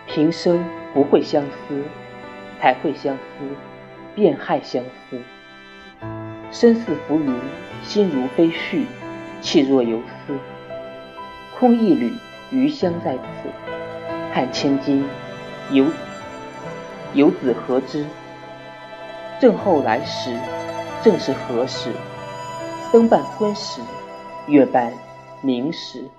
平生不会相思，才会相思，便害相思。身似浮云，心如飞絮，气若游丝。空一缕余香在此，汉千金，游子何之？正后来时，正是何时？灯半昏时，月半明时。